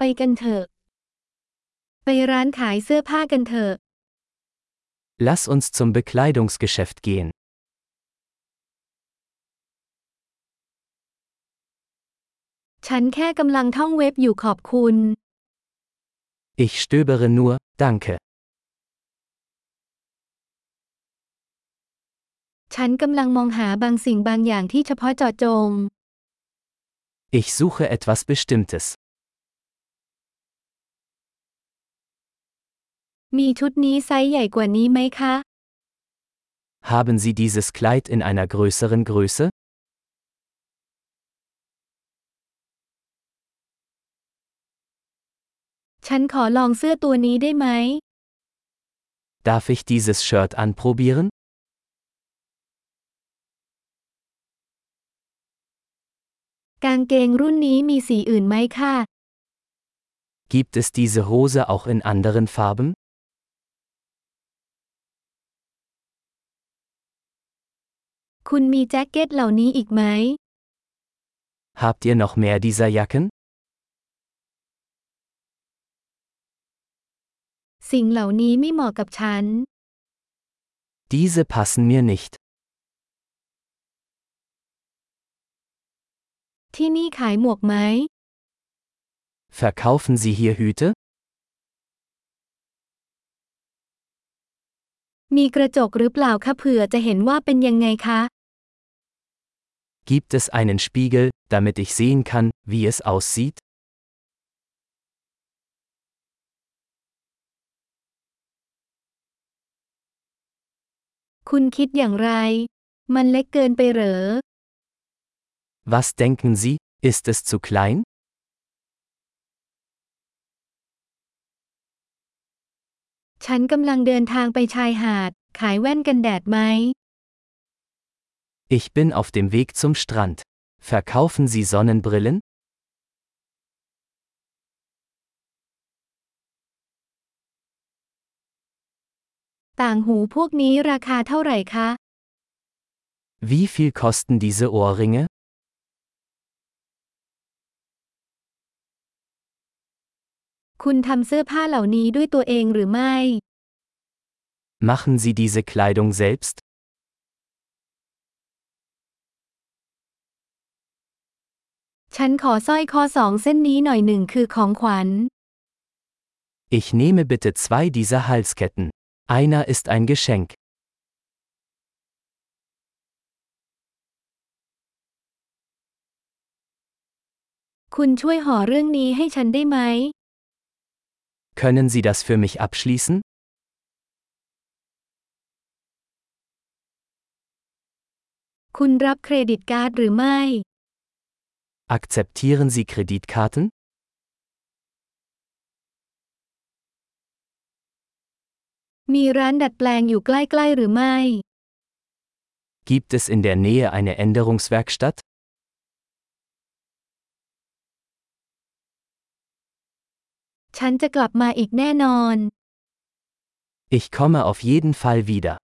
กันเถอะไปร้านขายเสื้อผ้ากันเถอะ Lass uns zum Bekleidungsgeschäft gehen. ฉันแค่กำลังท่องเว็บอยู่ขอบคุณ Ich stöbere nur, danke. ฉันกำลังมองหาบางสิ่งบางอย่างที่เฉพาะเจาะจง Ich suche etwas Bestimmtes. มีชุดนี้ไซส์ใหญ่กว่านี้ไหมคะ Haben Sie dieses Kleid in einer größeren Größe? ฉันขอลองเสื้อตัวนี้ได้ไหม Darf ich dieses Shirt anprobieren? กางเกงรุ่นนี้มีสีอื่นไหมคะ Gibt es diese Hose auch in anderen Farben? คุณมีแจ็คเก็ตเหล่านี้อีกไหม Habt ihr noch mehr dieser Jacken? สิ่งเหล่านี้ไม่เหมาะกับฉัน Diese passen mir nicht. ที่นี่ขายหมวกไหม Verkaufen Sie hier Hüte? มีกระจกหรือเปล่าคะเผื่อจะเห็นว่าเป็นยังไงคะ Gibt es einen Spiegel, damit ich sehen kann, wie es aussieht? คุณคิดอย่างไร มันเล็กเกินไปเหรอ Was denken Sie, ist es zu klein? ฉันกำลังเดินทางไปชายหาด ขายแว่นกันแดดไหม Ich bin auf dem Weg zum Strand. Verkaufen Sie Sonnenbrillen? ต่างหูพวกนี้ราคาเท่าไหร่คะ Wie viel kosten diese Ohrringe? คุณทำเสื้อผ้าเหล่านี้ด้วยตัวเองหรือไม่ Machen Sie diese Kleidung selbst? ฉันขอสร้อยคอ2เส้นนี้หน่อยหนึ่งคือของขวัญ Ich nehme bitte 2 dieser Halsketten. Einer ist ein Geschenk. คุณช่วยห่อเรื่องนี้ให้ฉันได้ไหม Können Sie das für mich abschließen? คุณรับเครดิตการ์ดหรือไม่ Akzeptieren Sie Kreditkarten? มีร้านดัดแปลงอยู่ใกล้ๆหรือไม่ Gibt es in der Nähe eine Änderungswerkstatt? ฉันจะกลับมาอีกแน่นอน Ich komme auf jeden Fall wieder.